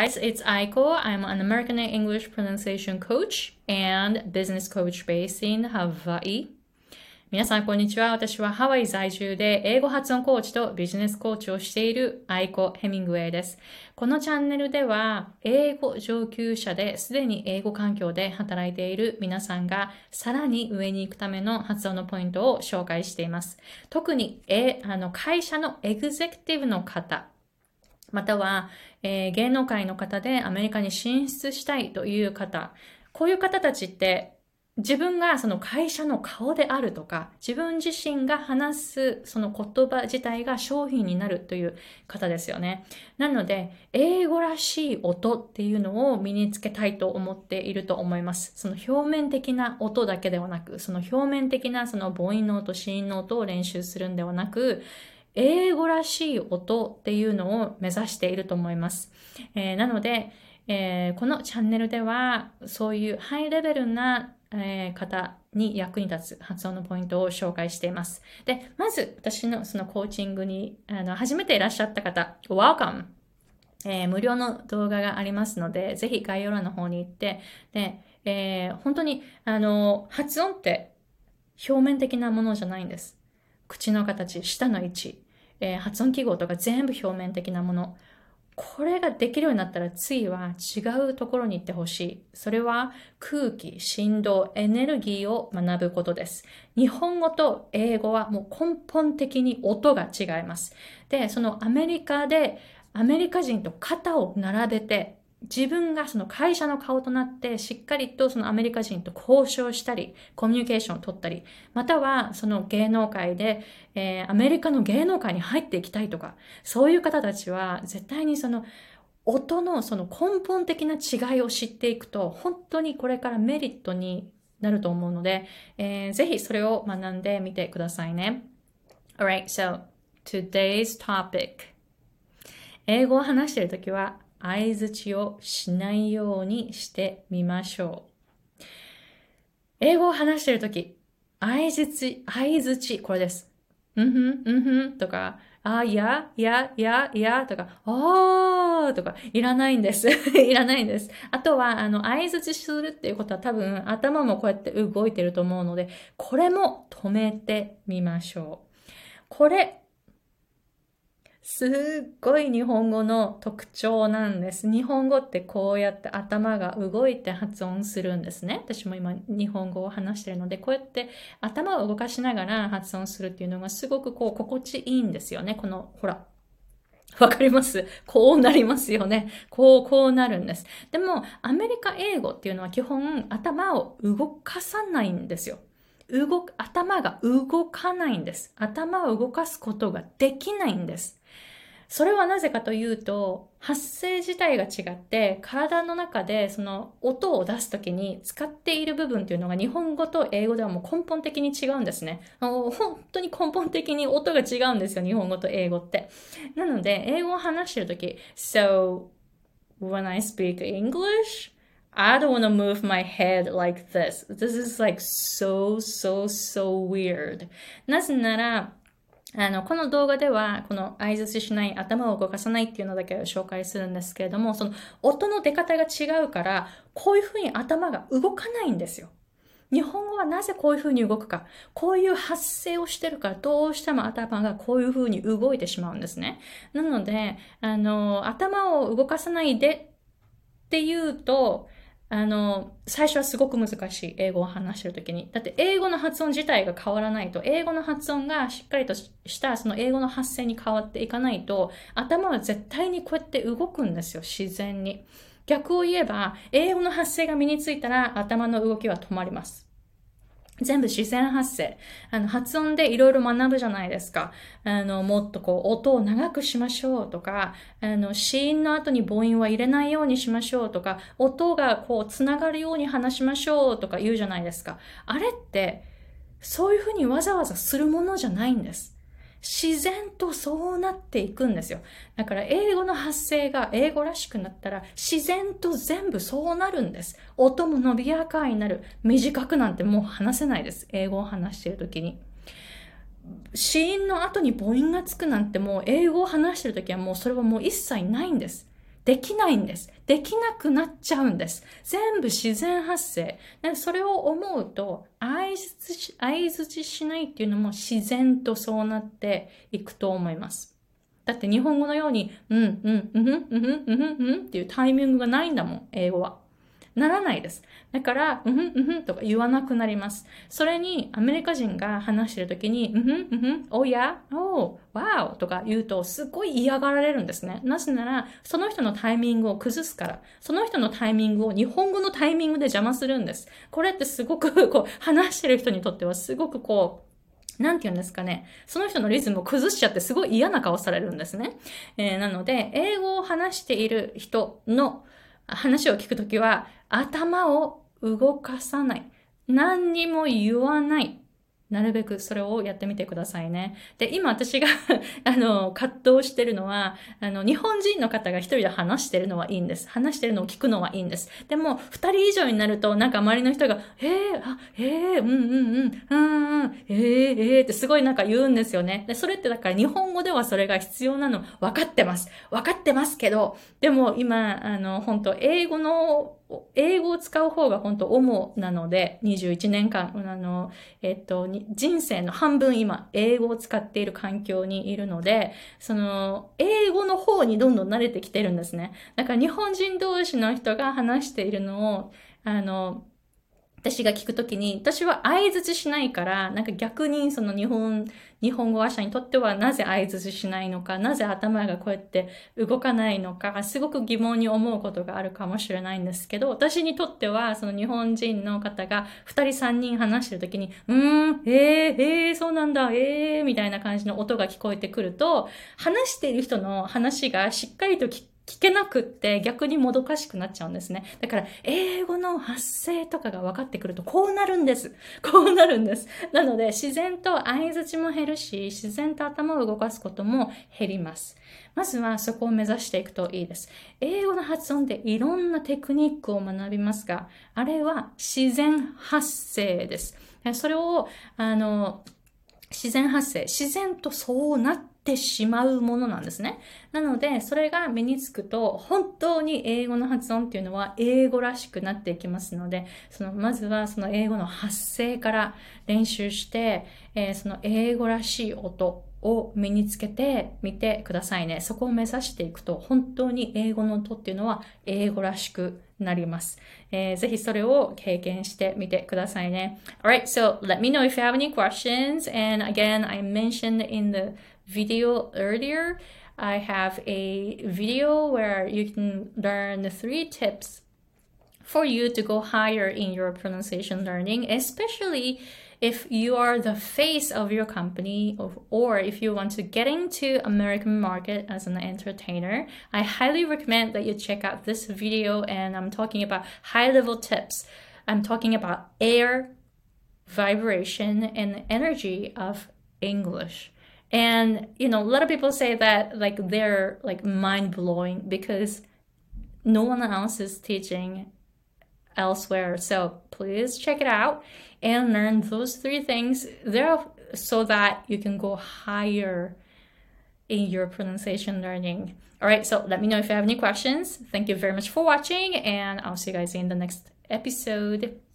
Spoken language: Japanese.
guys, it's Aiko. I'm an American English pronunciation coach and business coach based in Hawaii. 皆さん、こんにちは。私はハワイ在住で英語発音コーチとビジネスコーチをしているアイコ・ヘミングウェイです。このチャンネルでは、英語上級者ですでに英語環境で働いている皆さんがさらに上に行くための発音のポイントを紹介しています。特に会社のエグゼクティブの方、または、芸能界の方でアメリカに進出したいという方、こういう方たちって自分がその会社の顔であるとか、自分自身が話すその言葉自体が商品になるという方ですよね。なので、英語らしい音っていうのを身につけたいと思っていると思います。その表面的な音だけではなく、その表面的なその母音の音、子音の音を練習するんではなく、英語らしい音っていうのを目指していると思います。なので、このチャンネルではそういうハイレベルな方に役に立つ発音のポイントを紹介しています。で、まず私のそのコーチングに初めていらっしゃった方、Welcome! 無料の動画がありますので、ぜひ概要欄の方に行って、で、本当に発音って表面的なものじゃないんです。口の形、舌の位置、発音記号とか全部表面的なもの。これができるようになったら次は違うところに行ってほしい。それは空気、振動、エネルギーを学ぶことです。日本語と英語はもう根本的に音が違います。で、そのアメリカでアメリカ人と肩を並べて自分がその会社の顔となってしっかりとそのアメリカ人と交渉したり、コミュニケーションを取ったり、またはその芸能界で、アメリカの芸能界に入っていきたいとか、そういう方たちは絶対にその音のその根本的な違いを知っていくと、本当にこれからメリットになると思うので、ぜひそれを学んでみてくださいね。Alright, so today's topic. 英語を話しているときは、相槌をしないようにしてみましょう。英語を話しているとき、相槌、これです。とか、いやとか、とか、いらないんです。いらないんです。あとは、相槌するっていうことは多分、頭もこうやって動いてると思うので、これも止めてみましょう。これ、すっごい日本語の特徴なんです。日本語ってこうやって頭が動いて発音するんですね。私も今日本語を話しているので、こうやって頭を動かしながら発音するっていうのがすごくこう心地いいんですよね。この、ほら。わかります？こうなりますよね。こうなるんです。でも、アメリカ英語っていうのは基本頭を動かさないんですよ。頭が動かないんです。頭を動かすことができないんです。それはなぜかというと、発声自体が違って、体の中でその音を出すときに使っている部分っていうのが日本語と英語ではもう根本的に違うんですね。本当に根本的に音が違うんですよ、日本語と英語って。なので、英語を話しているとき、So, when I speak English, I don't want to move my head like this. This is like so weird. なぜなら、この動画では、この相槌しない、頭を動かさないっていうのだけを紹介するんですけれども、その音の出方が違うから、こういうふうに頭が動かないんですよ。日本語はなぜこういうふうに動くか。こういう発声をしてるから、どうしても頭がこういうふうに動いてしまうんですね。なので、頭を動かさないでっていうと、最初はすごく難しい。英語を話してるときに。だって英語の発音自体が変わらないと、英語の発音がしっかりとしたその英語の発声に変わっていかないと、頭は絶対にこうやって動くんですよ、自然に。逆を言えば、英語の発声が身についたら頭の動きは止まります。全部自然発声。発音でいろいろ学ぶじゃないですか。もっとこう、音を長くしましょうとか、子音の後に母音は入れないようにしましょうとか、音がこう、つながるように話しましょうとか言うじゃないですか。あれって、そういうふうにわざわざするものじゃないんです。自然とそうなっていくんですよ。だから英語の発声が英語らしくなったら自然と全部そうなるんです。音も伸びやかになる。短くなんてもう話せないです。英語を話しているときに。子音の後に母音がつくなんてもう英語を話しているときはもうそれはもう一切ないんです。 できないんです。できなくなっちゃうんです。全部自然発生。それを思うと、相づちしないっていうのも自然とそうなっていくと思います。だって日本語のように、っていうタイミングがないんだもん、英語は。ならないです。だから、とか言わなくなります。それに、アメリカ人が話してるときに、おや、わおとか言うと、すごい嫌がられるんですね。なぜなら、その人のタイミングを崩すから、その人のタイミングを日本語のタイミングで邪魔するんです。これってすごく、話してる人にとってはすごくなんて言うんですかね。その人のリズムを崩しちゃってすごい嫌な顔されるんですね。なので、英語を話している人の話を聞くときは、頭を動かさない。何にも言わない。なるべくそれをやってみてくださいね。で、今私が葛藤してるのは、日本人の方が一人で話してるのはいいんです。話してるのを聞くのはいいんです。でも、二人以上になると、なんか周りの人が、ってすごいなんか言うんですよね。で、それってだから日本語ではそれが必要なの分かってます。分かってますけど、でも今、本当英語を使う方が本当主なので、21年間、人生の半分今、英語を使っている環境にいるので、英語の方にどんどん慣れてきてるんですね。だから日本人同士の人が話しているのを、私が聞くときに、私は相槌しないから、なんか逆に日本語話者にとってはなぜ相槌しないのか、なぜ頭がこうやって動かないのか、すごく疑問に思うことがあるかもしれないんですけど、私にとっては、日本人の方が2人3人話してるときに、そうなんだ、みたいな感じの音が聞こえてくると、話している人の話がしっかりと聞けなくって逆にもどかしくなっちゃうんですね。だから英語の発声とかが分かってくるとこうなるんです。こうなるんです。なので自然と相づちも減るし、自然と頭を動かすことも減ります。まずはそこを目指していくといいです。英語の発音でいろんなテクニックを学びますが、あれは自然発声です。それを自然発生、自然とそうなってしまうものなんですね。なので、それが身につくと、本当に英語の発音っていうのは英語らしくなっていきますので、まずはその英語の発声から練習して、その英語らしい音を身につけてみてくださいね。そこを目指していくと、本当に英語の音っていうのは英語らしくなります。ぜひそれを経験してみてくださいね。Alright, so let me know if you have any questions. And again, I mentioned in the video earlier, I have a video where you can learn 3 tips for you to go higher in your pronunciation learning, especially if you are the face of your company or if you want to get into American market as an entertainer. I highly recommend that you check out this video, and I'm talking about high-level tips. I'm talking about air, vibration, and energy of English. And a lot of people say that they're mind-blowing because no one else is teaching elsewhere. So please check it out and learn those 3 things there so that you can go higher in your pronunciation learning. All right, so let me know if you have any questions. Thank you very much for watching, and I'll see you guys in the next episode.